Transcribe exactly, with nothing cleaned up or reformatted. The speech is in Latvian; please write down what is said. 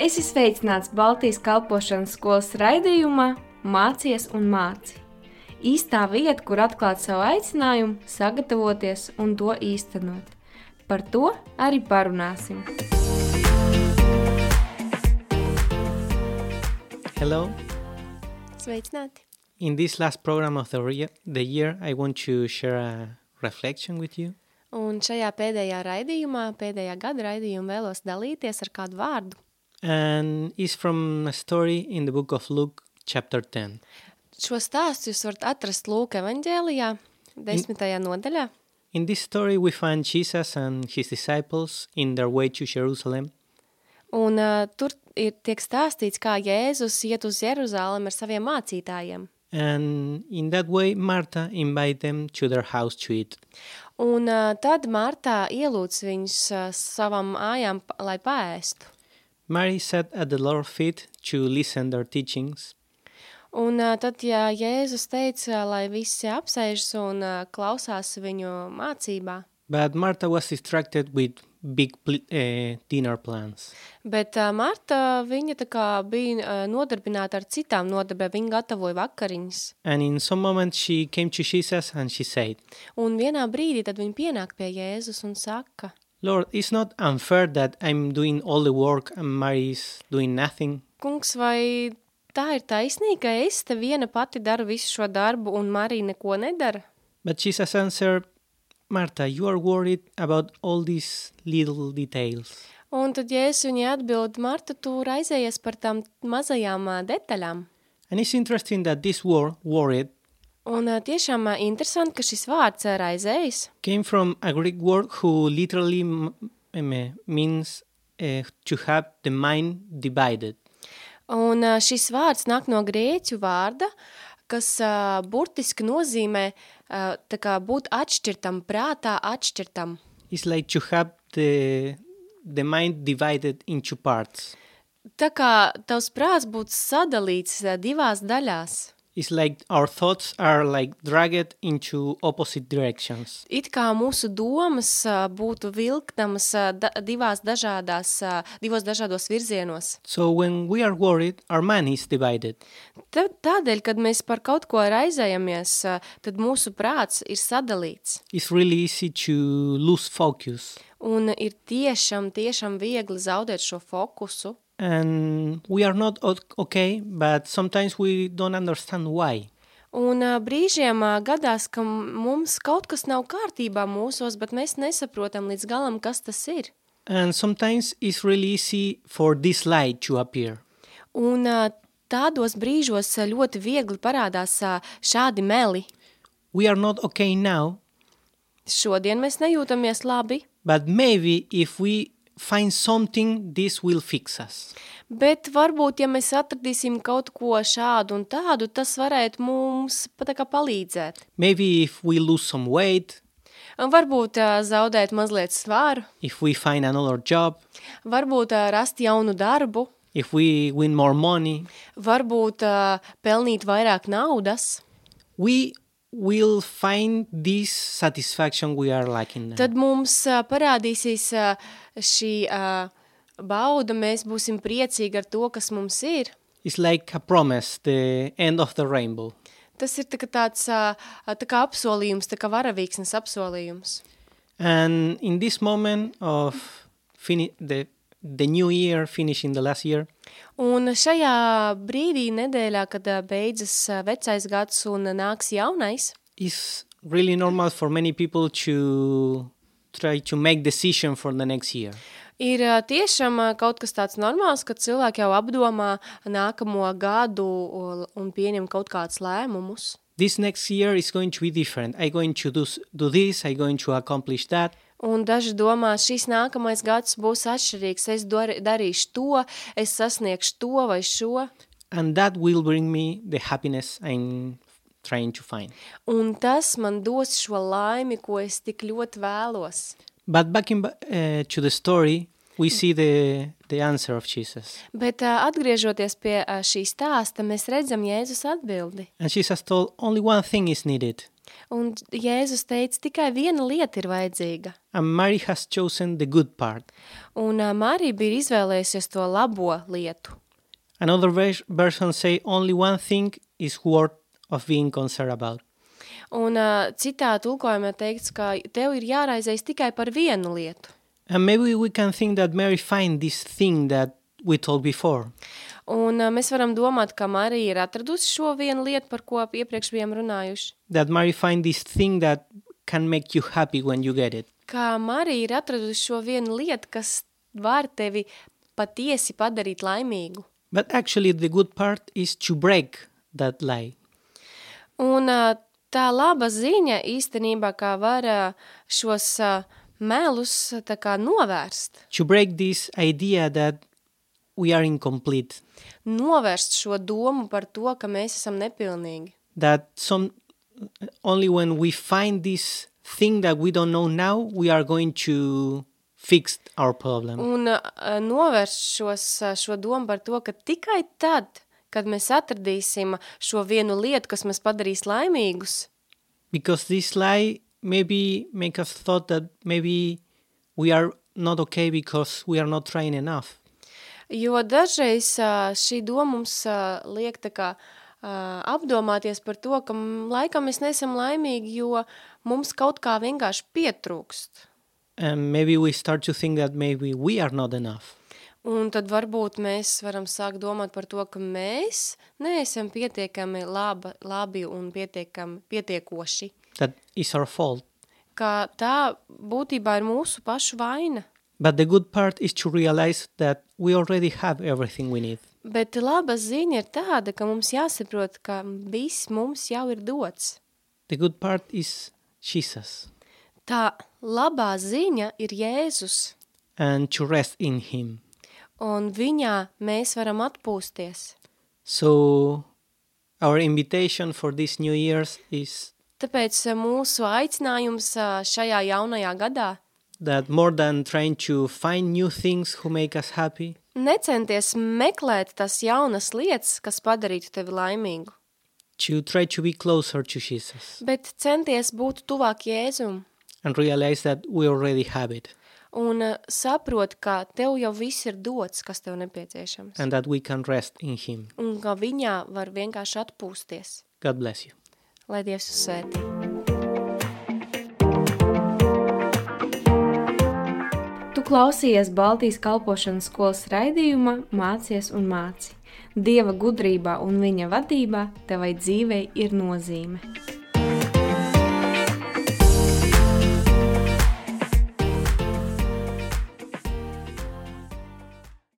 Esi sveicināts Baltijas kalpošanas skolas raidījumā Mācies un māci. Īstā vieta, kur atklāt savu aicinājumu, sagatavoties un to īstenot. Par to arī parunāsim. Hello. Sveicināti. In this last program of the, re- the year, I want to share a reflection with you. Un šajā pēdējā raidījumā, pēdējā gada raidījumā vēlos dalīties ar kādu vārdu. And it's from a story in the book of Luke, chapter ten. Šo stāstu jūs varat atrast Lūka evaņģēlijā, desmitajā nodaļā. In this story, we find Jesus and his disciples in their way to Jerusalem. Un uh, tur ir tiek stāstīts, kā Jēzus iet uz Jeruzālem ar saviem mācītājiem. And in that way, Martha invited them to their house to eat. Un uh, tad Martā ielūdz viņus uh, savam mājām, lai paēstu. Mary sat at the Lord's feet to listen their teachings. Un uh, tad, ja Jēzus teica, lai visi apsēžas un uh, klausās viņu mācībā, But Martha was distracted with big pl- uh, dinner plans. bet uh, Marta, viņa tā kā bija uh, nodarbināta ar citām nodarbēm, viņa gatavoja vakariņas. And in some moment, she came to Jesus and she said, Un vienā brīdī tad viņa pienāk pie Jēzus un saka, Lord, it's not unfair that I'm doing all the work and Mary's doing nothing. kungs, vai tā ir taisnīga, ka es te viena pati daru visu šo darbu un Marija neko nedara? But Jesus answered, Martha, you are worried about all these little details. Un tad Jēzus viņai atbild, Marta, tu raizējies par tām mazajām ā, detaļām. And it's interesting that this word, worried, Un ā, tiešām ā, interesanti, ka šis vārds ā, raizējas came from a Greek word who literally m- m- means uh, to have the mind divided. Un ā, šis vārds nāk no grieķu vārda, kas ā, burtiski nozīmē ā, tā kā būt atšķirtam, prātā atšķirtam. It's like to have the, the mind divided into parts. Tā kā tavs prāts būtu sadalīts ā, divās daļās. It's like our thoughts are like dragged into opposite directions. It kā mūsu domas ā, būtu vilktamas ā, da, divās dažādās, ā, divos dažādos virzienos. So when we are worried, our mind is divided. Tā, tādēļ, kad mēs par kaut ko raizējamies, ā, tad mūsu prāts ir sadalīts. It's really easy to lose focus. Un ir tiešām, tiešām viegli zaudēt šo fokusu. And we are not o- okay, but sometimes we don't understand why. Un ā, brīžiem ā, gadās, ka mums kaut kas nav kārtībā mūsos, bet mēs nesaprotam līdz galam, kas tas ir. And sometimes it's really easy for this light to appear. Un ā, tādos brīžos ā, ļoti viegli parādās ā, šādi meli. We are not okay now, Šodien mēs nejūtamies labi, but maybe if we find something, this will fix us. bet varbūt, ja mēs atradīsim kaut ko šādu un tādu, tas varētu mums pat tā kā palīdzēt. Maybe if we lose some weight, Un varbūt ā, zaudēt mazliet svaru, if we find another job, varbūt ā, rast jaunu darbu, if we win more money, varbūt ā, pelnīt vairāk naudas, we will find this satisfaction we are lacking now. tad mums ā, parādīsies ā, šī ā, bauda, mēs būsim priecīgi ar to, kas mums ir. It's like a promise, the end of the rainbow. Tas ir tā kā tāds ā, tā kā apsolījums, tā kā varavīksnes apsolījums. And in this moment of fini- the, the new year, finishing the last year, Un šajā brīdī nedēļā, kad ā, beidzas ā, vecais gads un ā, nāks jaunais, it's really normal for many people to try to make decision for the next year. ir ā, tiešām ā, kaut kas tāds normāls, kad cilvēki jau apdomā nākamo gadu un- un pieņem kaut kādus lēmumus. This next year is going to be different. I'm going to do, s- do this, I'm going to accomplish that. Un daži domā, šis nākamais gads būs atšķirīgs, es dar, darīšu to, es sasniegšu to vai šo. And that will bring me the happiness I'm trying to find. Un tas man dos šo laimi, ko es tik ļoti vēlos. But back in, uh, to the story, we see the, the answer of Jesus. Bet ā, atgriežoties pie ā, šī stāsta, mēs redzam Jēzus atbildi. And Jesus told, only one thing is needed. Un Jēzus teica, tikai viena lieta ir vajadzīga. And Mary has chosen the good part. Un uh, Marija bija izvēlējusies to labo lietu. Another vers- version say only one thing is worth of being concerned about. Un uh, citā tulkojumā teikts, ka tev ir jāraizējas tikai par vienu lietu. And maybe we can think that Mary find this thing that we told before. Un uh, mēs varam domāt, ka Marija ir atradusi šo vienu lietu, par ko iepriekš bijām runājuši. That Mary find this thing that can make you happy when you get it. Kā Marija ir atradusi šo vienu lietu, kas var tevi patiesi padarīt laimīgu. But actually the good part is to break that lie. Un uh, tā laba ziņa īstenībā, kā var uh, šos uh, melus tā kā novērst. To break this idea that we are incomplete. Novērst šo domu par to, ka mēs esam nepilnīgi. That some only when we find this thing that we don't know now, we are going to fix our problem. Un uh, novērst šos, uh, šo domu par to, ka tikai tad, kad mēs atradīsim šo vienu lietu, kas mēs padarīs laimīgus. Because this lie maybe make us thought that maybe we are not okay because we are not trying enough. Jo dažreiz uh, šī doma mums uh, liek tā kā uh, apdomāties par to, ka m, laikam mēs nesam laimīgi, jo mums kaut kā vienkārši pietrūkst. And maybe we start to think that maybe we are not enough. Un tad varbūt mēs varam sākt domāt par to, ka mēs neesam pietiekami laba, labi un pietiekami pietiekoši. That is our fault. Ka tā būtībā ir mūsu pašu vaina. But the good part is to realize that we already have everything we need. Bet laba ziņa ir tāda, ka mums jāsaprot, ka viss mums jau ir dots. The good part is Jesus. Tā labā ziņa ir Jēzus, And to rest in him. un viņā mēs varam atpūsties. So our invitation for this New Year's is Tāpēc mūsu aicinājums šajā jaunajā gadā that more than trying to find new things who make us happy, necenties meklēt tas jaunas lietas, kas padarītu tevi laimīgu, to try to be closer to Jesus bet centies būt tuvāk Jēzum and realize that we already have it un saprot, ka tev jau viss ir dots, kas tev nepieciešams, and that we can rest in him. un ka viņā var vienkārši atpūsties. God bless you. Lai Dievs jūs svētī. Tu klausījies Baltijas kalpošanas skolas raidījuma Mācies un māci. Dieva gudrībā un viņa vadībā tevai dzīvei ir nozīme.